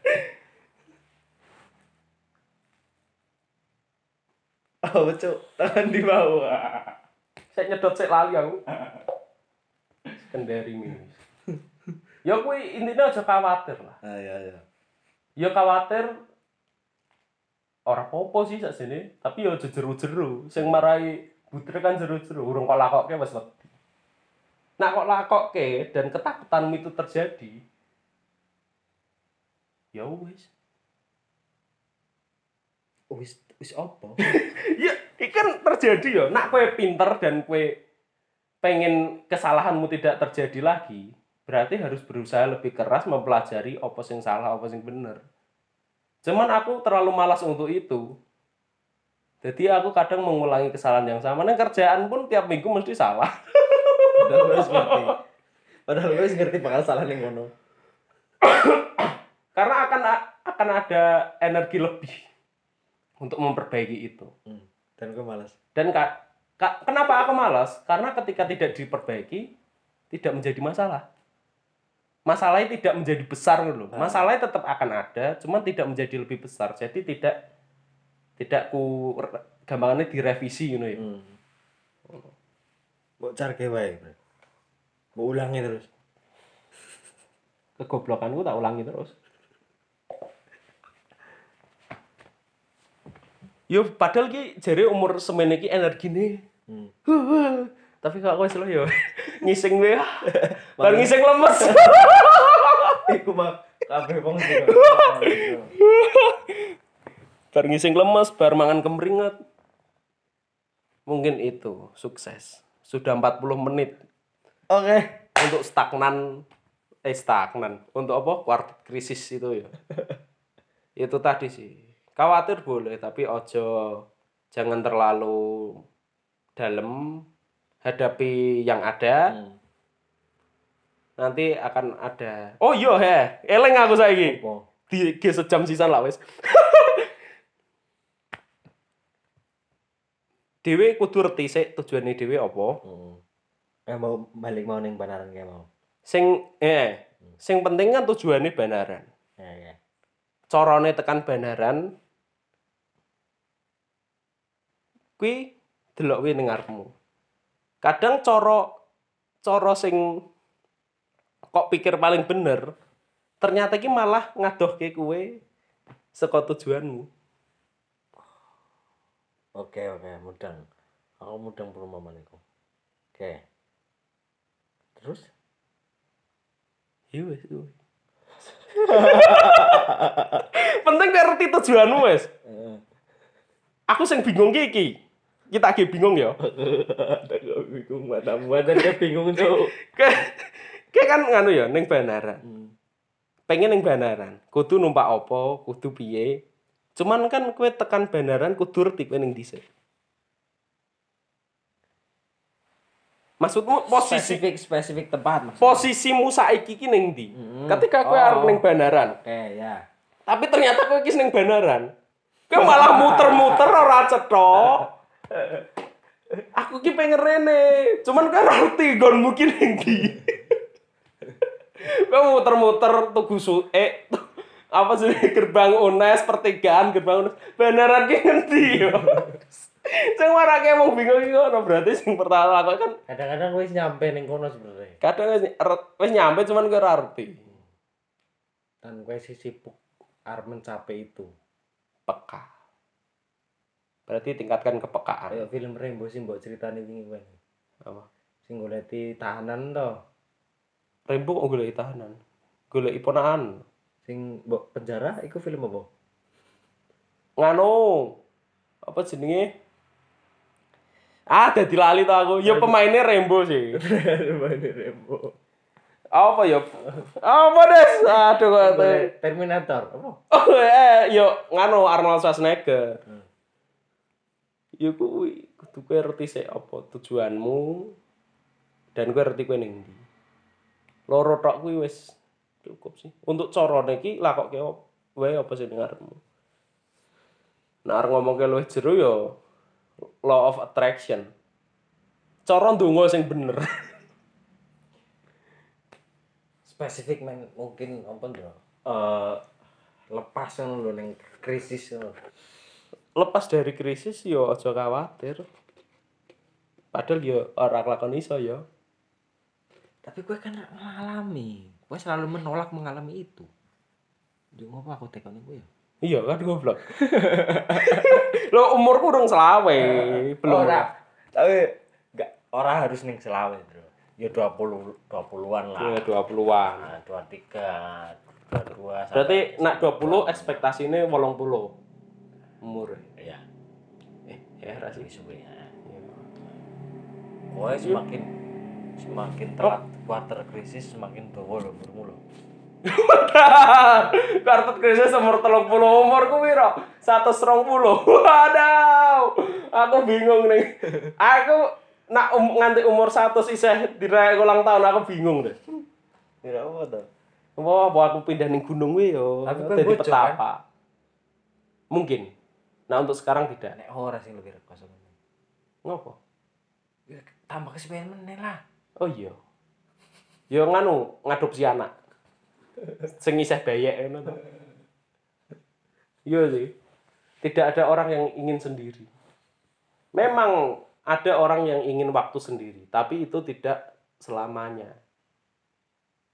Oh, cuk, tangan di bawah. Saya nyedot sik lali aku. Secondary misi. Ya kuwi intinya aja khawatir lah. Iya. Ya khawatir ora apa-apa sih sakjane, tapi ya jeru-jeru. Sing marai butre kan jeru-jeru, urung kok lakokke wis wedi. Nah kok lakokke dan ketakutanmu itu terjadi, ya wis. Wis apa? Ya, iki kan terjadi ya. Nak kowe pinter dan kowe pengen kesalahanmu tidak terjadi lagi, berarti harus berusaha lebih keras mempelajari apa sing salah, apa sing bener. Cuman aku terlalu malas untuk itu. Jadi aku kadang mengulangi kesalahan yang sama. Nang kerjaan pun tiap minggu mesti salah. Padahal gue ngerti bakal salah ning ngono. Karena akan ada energi lebih untuk memperbaiki itu. Dan gue malas. Dan kenapa aku malas? Karena ketika tidak diperbaiki, tidak menjadi masalah. Masalahnya tidak menjadi besar loh. Masalahnya tetap akan ada, cuman tidak menjadi lebih besar. Jadi tidak gampangannya direvisi gitu ya. Mbok carke wae, Bro. Mbok ulangi terus. kegoblokanku tak ulangi terus. Yo padahal ki jare umur semene ki energine. Tapi kok wis lho yo ngising wae. Bar ngising lemes. Iku mah kabeh wong sing Bar ngising lemes, bar mangan kemringet. Mungkin itu sukses. Sudah 40 menit. Oke. Untuk stagnan. Untuk apa? Kuartet krisis itu ya. Itu tadi sih. Khawatir boleh, tapi jangan terlalu dalam. Hadapi yang ada. Nanti akan ada. Oh iya eleng aku saiki. Di sejam sisan lah wis. Dhewe kudu reti sik tujuane dhewe apa. Mau balik mau ning Banaran kae mau. Sing penting kan tujuane Banaran. Ya. Carane tekan Banaran kuwi delok kuwi ning ngarepmu. Kadang cara sing kok pikir paling bener, ternyata iki malah ngadohke kowe saka tujuanmu. Oke, mudeng. Aku mudeng perumpamaan iku. Oke. Terus? Ya wis. Penting kowe ngerti tujuanmu wis. Aku sing bingung iki. Kita lagi bingung ya. Ada bingung matamu ada bingung tuh. Kayak kan nganu ya ning Banaran. Pengen ning Banaran, kudu numpak apa, kudu piye. Cuman kan kowe tekan Banaran kudu ngerti kowe ning dhisik. Maksudmu spesifik tempat maksudnya. Posisimu saiki ki ning ndi? Ketika kowe arep ning Banaran. Oke, ya. Tapi ternyata kowe iki ning Banaran. Kowe malah muter-muter ora cetok. Aku ki pengen rene, cuman kowe ngerti nggonmu ki ning ndi. Kowe muter-muter tugu apa sih gerbang UNES, pertigaan gerbang UNES. Banaran ki ngendi yo. Sing marake emang bingung iki ngono, berarti sing pertama aku kan kadang-kadang wis nyampe ning kono sebenarnya. Kadang wis nyampe cuman kowe ora ngerti. Dan kowe sibuk arep mencapai itu. Peka. Berarti tingkatkan kepekaan. Kayak film Rembo sing mbok critani wingi kowe. Apa? Sing goleki tahanan to. Rembo kok goleki tahanan. Goleki ponakan. Sing mbok penjara iku film apa? Nganu. Apa jenenge? Dadi lali to aku. Ya pemainnya Rembo sih. Pemainnya Rembo. Apa ya? Apa des? Aduh kok Terminator. Apa? Yo nganu Arnold Schwarzenegger. Ya kuwi kudu kowe ngerti sik apa tujuanmu dan kowe ngerti kowe ning ndi. Loro tok kuwi wis cukup sih. Untuk carane iki lakokke wae apa sing ngarepmu. Nek arep ngomongke luwih jero ya law of attraction. Cara ndonga sing bener. Spesifik mungkin apa to? Lepas ngono lho ning krisis ngono. Lepas dari krisis ya aja khawatir. Padahal ya ora kelakon iso ya. Tapi gue kan mengalami. Gue selalu menolak mengalami itu. Jadi ngapa aku tekoni gue ya? Iya kan goblok. Lo umurku urung selawe, belum. Ora. Tapi enggak ora harus ning selawe, Bro. Ya 20-an lah. Ya 20-an. Nah, 23, 22. Berarti nak 20 ekspektasine 80. Umur. Iya. Ra sih Suwe ya. Kowe semakin telat quarter krisis semakin dawa lho umurmu lho. Kartu krisis umur 30 umurku piro? 120. Waduh. Aku bingung nih. Aku nak nganti umur 100 isih dirayakan ulang tahun aku bingung deh. Kira apa to? Apa aku pindah ning gunung kuwi yo. Tapi Dadi petapa. Mungkin. Nah untuk sekarang tidak. Nek ora sing lebih rekos. Ngopo? Ya tambah kesepian meneh lah. Oh iya. Yo nganu ngadopsi anak. Sing isih bayek ngono to. Iya sih. Tidak ada orang yang ingin sendiri. Memang ada orang yang ingin waktu sendiri, tapi itu tidak selamanya.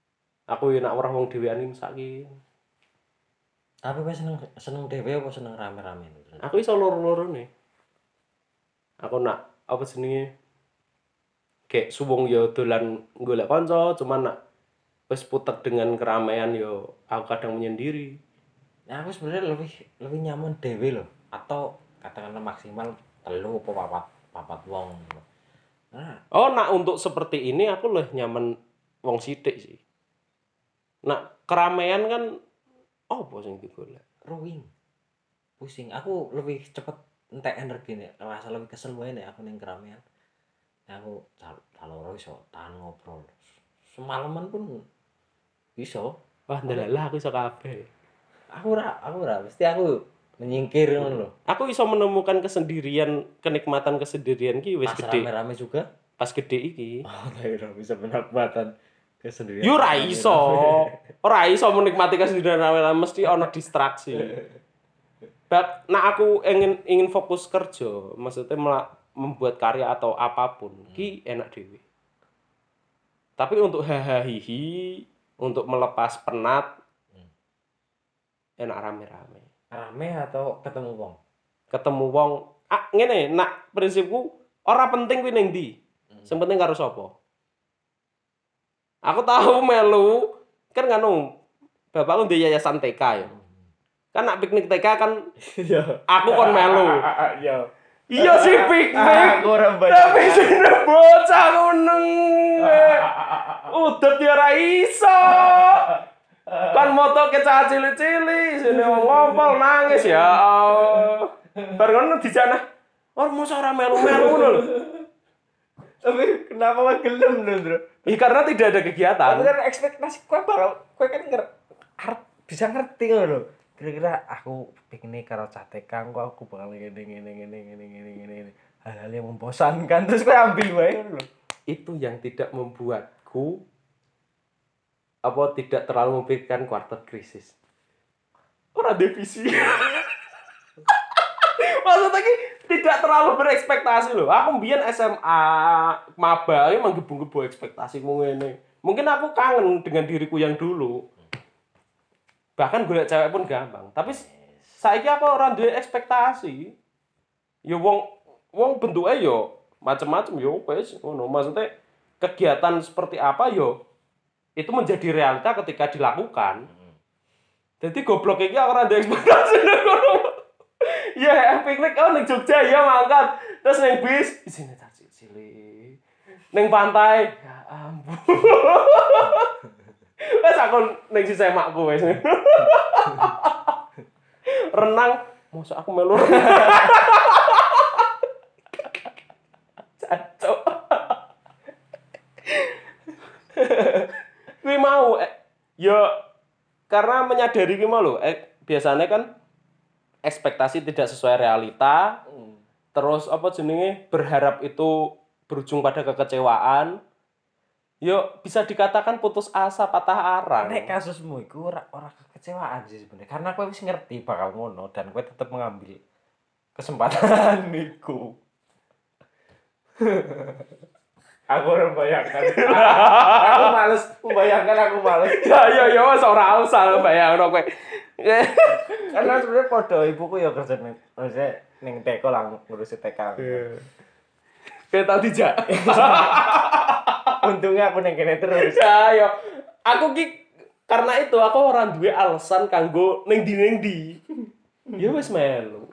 Aku yo nak weruh wong dhewean iki mesake. Tapi kowe seneng dhewe apa seneng rame-rame? Aku iso loro-lorone. Aku nak apa jenenge kayak suwung yo dolan golek kanca, cuman nak wis putek dengan keramaian yo aku kadang menyendiri. Nah, aku sebenarnya lebih nyaman dhewe loh, atau katakanlah maksimal 3 apa 4 wong. Nah, Oh, nak untuk seperti ini aku lebih nyaman wong sithik sih. Nak keramaian kan opo sing digolek? ruwing, pusing. Aku lebih cepet entek energi nih, rasa lebih kesel wae nek aku ning keramaian. Nah, aku caloro iso tahan ngobrol. Semalaman pun iso. Wah, ndelalah aku iso kabeh. Aku ora, mesti aku menyingkir ngono lho. Aku iso menemukan kesendirian, kenikmatan kesendirian ki wis Pas gede. rame-rame juga. Pas gede iki. Oh, ora bisa penempatan kesendirian. Yo ora iso. Ora iso menikmati kesendirian rame-rame mesti ana distraksi. Nah aku ingin fokus kerja, maksudnya membuat karya atau apapun, ki enak dewe. Tapi untuk hahaha, untuk melepas penat, enak rame-rame. Rame atau ketemu wong? Ketemu wong, ngene, nak prinsipku ora penting kuwi ning ndi. Sing penting karo sapa. Aku tahu melu kan nganu bapakku ndek yayasan TK ya. Kan nak piknik TK kan Iya. aku kon melu. Iya. Iya sih piknik. Aku ora Tapi sini bocah kuneng. Udah ya ora iso. Kan moto kecah cili-cili, sini wong ngompol nangis ya. Bar ngono dijana. Oh, mosok ora melu-melu ngono lho. Tapi kenapa kok gelem lho, Bro? Karena tidak ada kegiatan. Tapi kan ekspektasi kowe kan arep bisa ngerti ngono lho. Kira-kira aku piknik karo cah TK kok aku bakal ngene. Hal-hal yang membosankan terus kowe ambil wae ngono lho. Itu yang tidak membuatku tidak terlalu memikirkan quarter krisis. Ora divisi. Maksudnya ki tidak terlalu berekspektasi loh. Aku mbiyen SMA maba iki menggebu-gebu ekspektasiku ngene. Mungkin aku kangen dengan diriku yang dulu. Bahkan golek cewek pun gampang. Tapi saiki aku ora duwe ekspektasi. Ya wong bentuke ya macem-macem ya wis ngono. Maksudnya kegiatan seperti apa ya itu menjadi realita ketika dilakukan. Jadi goblok iki aku ora duwe ekspektasi ngono. Ya, piknik ning Jogja ya mangkat. Terus ning bis isine cilik. Ning pantai, ya ampun. Wes aku ning sisih makku wis. Renang, mosok aku melu. Cacok. Kuwi mau ya karena menyadari ki mau lho, biasanya kan ekspektasi tidak sesuai realita. Terus apa jenenge berharap itu berujung pada kekecewaan. Yo bisa dikatakan putus asa, patah arang. Nek kasusmu iku ora kekecewaan sih sebenarnya. Karena kowe wis ngerti bakal ngono dan kowe tetep mengambil kesempatan iku. Aku ora bayangkan. Aku males membayangkan, aku males. Ya wis ora usah bayangno kowe. Karena sebenarnya podo ibuku ya kerja ning TK lah ngurusi TK. Kayak tau dijak. Untungnya aku ning kene terus. Ya yo. Aku ki karena itu aku ora duwe alasan kanggo ning ndi. Ya wis melu.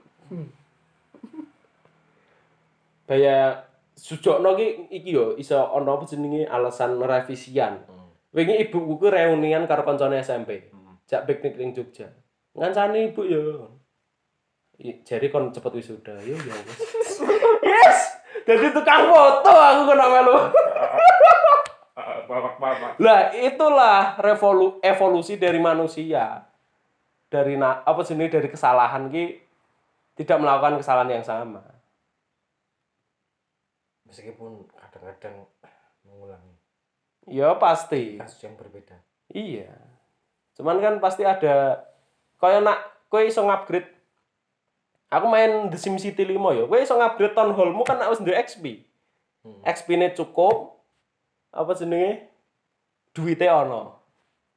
Kayak Sujokno ki iki yo iso ana apa jenenge alasan revisian. Wingi ibuku ku reunian karo kancane SMP. Jak piknik ning Jogja. Ngancani ibu yo. Jare kon cepet wisuda. Yo ya wis. Yes. Jadi tukang foto aku kena melu. Bapak-bapak. Lah itulah evolusi dari manusia. Dari dari kesalahan ki tidak melakukan kesalahan yang sama. Meskipun kadang-kadang mengulangi Ya pasti. kasus yang berbeda. Iya. Cuman kan pasti ada kaya nak kowe iso ngupgrade. Aku main The Sims City 5 ya. Kowe iso ngupgrade town hall-mu kan harus duwe XP. XP-ne cukup apa jenenge? Duite ono.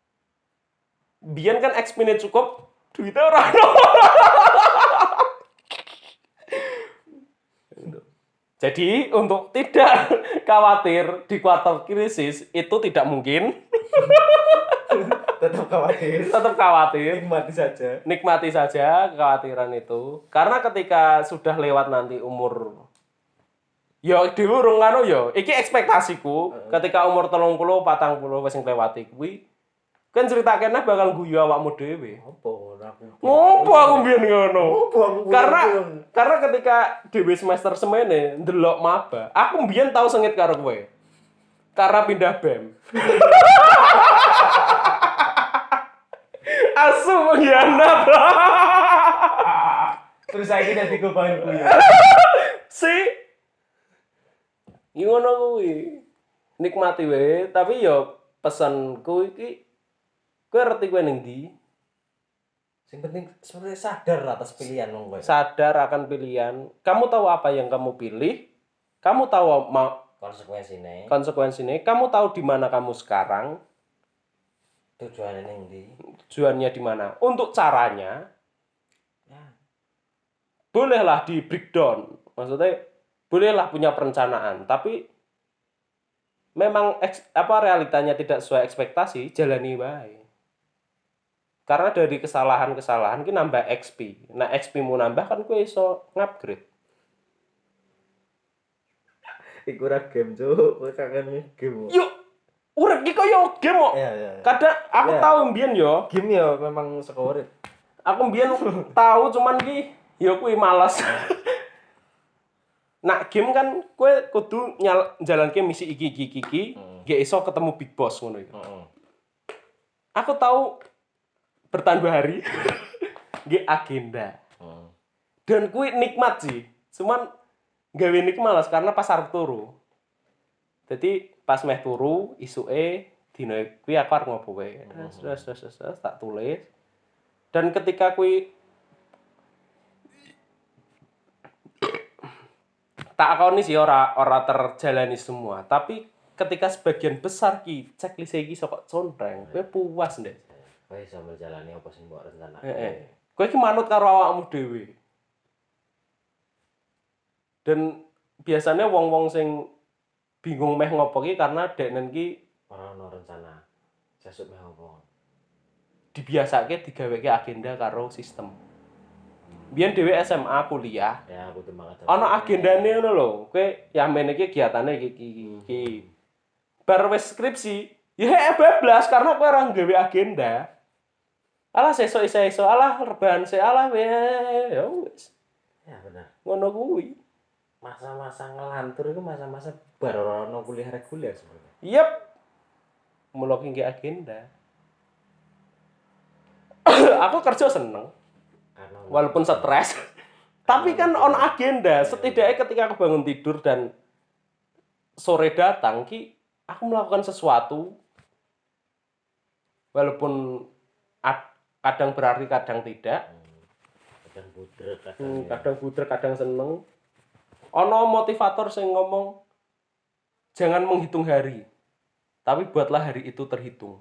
biyen kan XP-ne cukup, duitnya ora ono. Jadi untuk tidak khawatir di kuartal krisis itu tidak mungkin. Tetap khawatir. Tetap khawatir. Nikmati Nikmati saja saja. kekhawatiran itu. Karena ketika sudah lewat nanti umur ya diurung anu ya, iki ekspektasiku ketika umur 30, 40 wis nglewati kuwi kan cerita kene bakal guyu awakmu dhewe. Ngopo aku mbiyen ngono? Karena ketika dhewe semester semene ndelok maba, aku mbiyen tau sengit karo kowe. Karena pindah BEM. Asu pengkhianat. Terus saiki dadi kobain kuwi. Si ngono kuwi. Nikmati wae, tapi yo pesanku iki kowe ngerti kowe ning ndi? Sing penting sebenarnya sadar atas pilihan wong kowe. Sadar akan pilihan. Kamu tahu apa yang kamu pilih. Kamu tahu konsekuensinya. Kamu tahu di mana kamu sekarang. Tujuannya ning ndi? Tujuannya di mana? Untuk caranya Ya. Bolehlah di breakdown. Maksudnya bolehlah punya perencanaan, tapi memang realitanya tidak sesuai ekspektasi, jalani wae. Karena dari kesalahan-kesalahan ki nambah XP. Nah, XP-mu nambah kan kowe iso ngupgrade. Iku ora game, Cuk. Kowe kangen game. Yuk, urip ki koyo game kok. Iya. Kadang aku tahu mbiyen yo. Game ya memang saka urip. Aku mbiyen tahu cuman ki ya kuwi malas. Nah, game kan kowe kudu jalanke misi iki. Gak iso ketemu big boss ngono iku. Aku tahu bertambah hari nggih agenda. Dan kuwi nikmat sih. Cuman gawe nik malas karena pas arep turu. Jadi pas meh turu isuke dina kuwi aku arep ngopo wae. Terus tak tulis. Dan ketika kuwi tak akoni sih ora terjalani semua, tapi ketika sebagian besar ki checklist iki sok contreng, kowe puas ndek. Kowe iso menjalani apa sing mbok rencanake. Kowe ki manut karo awakmu dhewe. Dan biasanya wong-wong sing bingung meh ngopo ki karena deknen ki ora ono rencana. Sesuk meh opo. Dibiasake digaweke agenda karo sistem. Biyen dhewe SMA kuliah. Ya, aku semangat. Ono agendane ngono lho. Kowe yamene iki kegiatane iki. Bar wis skripsi, ya bablas karena kowe ora nggawe agenda. Alah sesuk iso, alah rebahan se, alah ya wis. Ya benar. Ngono kuwi. Masa-masa ngelantur itu masa-masa bar ora ono kuliah reguler sebenarnya. Yep. Mulai nggih agenda. Aku kerja seneng. Walaupun stres. Tapi kan on agenda. Setidaknya ketika aku bangun tidur dan sore datang ki aku melakukan sesuatu. Walaupun kadang berarti kadang tidak. Kadang budrek, kadang seneng. Ono motivator sing ngomong jangan menghitung hari. Tapi buatlah hari itu terhitung.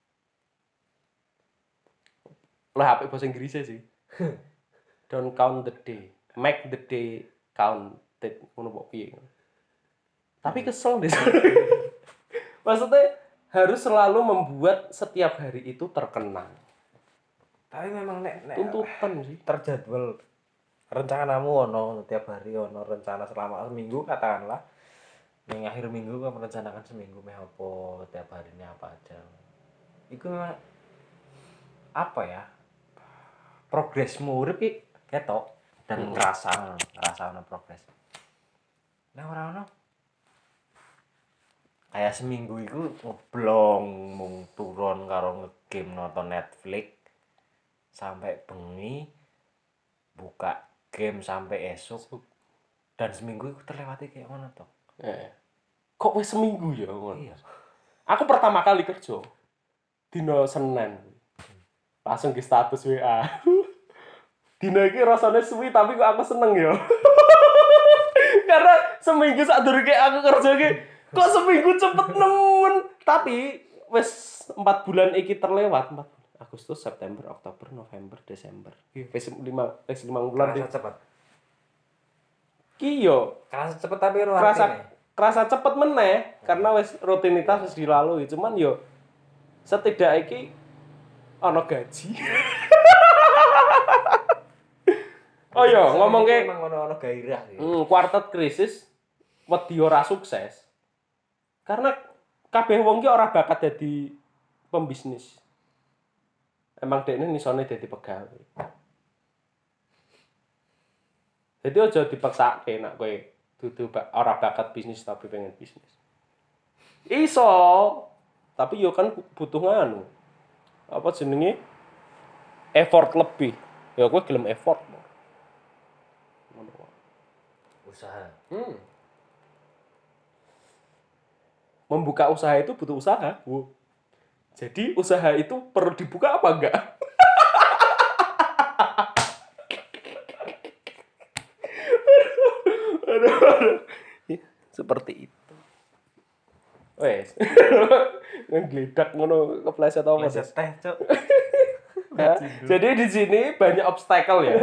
Lah apik bahasa Inggrisnya sih. Don't count the day, make the day counted. Ngono kok piye. Tapi kesel deh. Maksudnya harus selalu membuat setiap hari itu terkenang. Tapi memang nek tuntutan sih. Terjadwal rencanamu ono tiap hari ono rencana selama seminggu katakanlah. Ning akhir minggu kamu merencanakan seminggu meh apa tiap harinya apa aja. Iku memang apa ya? Progresmu urip iki ketok dan ngerasa ono progres. Nah ora ono. Kayak seminggu iku ngeblong mung turun karo ngegame nonton Netflix sampai bengi buka game sampai esok dan seminggu itu terlewati kayak mana toh? Kok wis seminggu ya ngono. Iya. Aku pertama kali kerja dino Senin. Langsung ke status WA. Dino iki rasane suwi tapi kok aku seneng ya. Karena seminggu sadurunge aku kerja iki kok seminggu cepet nemen. Tapi wis 4 bulan iki terlewat, Agustus, September, Oktober, November, Desember. Wis 5 bulan Kerasa cepet. Ki yo Kerasa cepet tapi ora artine. kerasa cepet meneh karena wis rutinitas wis dilalui. Cuman yo setidaknya iki ana gaji. Oh iya, ngomongke emang ono gairah sih. Quartet krisis wedi ora sukses. Karena kabeh wong ki ora bakat dadi pembisnis. Emang dekne nisone dadi pegawai. Jadi aja dipaksake nek kowe dudu ora bakat bisnis tapi pengen bisnis. Iso, tapi yo kan butuh nganu. Apa jenenge? Effort lebih. Ya kowe gelem effort. Usaha. Membuka usaha itu butuh usaha. Jadi usaha itu perlu dibuka apa enggak? Aduh. Seperti itu. Wes. Ngegledak ngono kepleset apa Pleset teh, Cuk. ya. Jadi di sini banyak obstacle ya.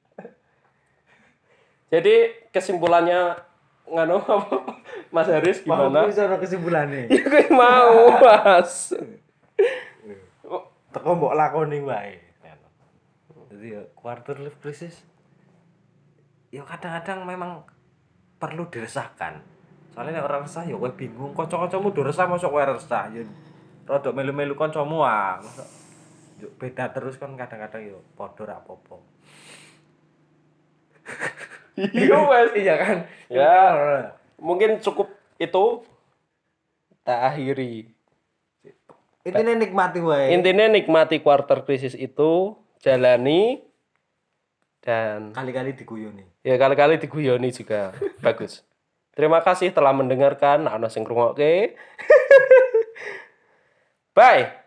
Jadi kesimpulannya ngano apa? Mas Haris gimana? Mau bisa ono kesimpulane. Ya gue mau, Mas. Teko mbok lakoni wae. Jadi ya quarter life crisis ya kadang-kadang memang perlu diresahkan. Soalnya nek ora resah ya kowe bingung, kanca-kancamu do resah mosok kowe resah. Ya rada melu-melu kancamu ah. Yo beda terus kan kadang-kadang yo padha ra apa-apa. Iya, Mas. Iya kan? Ya, mungkin cukup itu kita akhiri. Intinya nikmati wae. Intinya nikmati quarter krisis itu, jalani dan Kali-kali diguyoni. ya kali-kali diguyoni juga bagus. Terima kasih telah mendengarkan. Ana sing ngrungokke. Bye.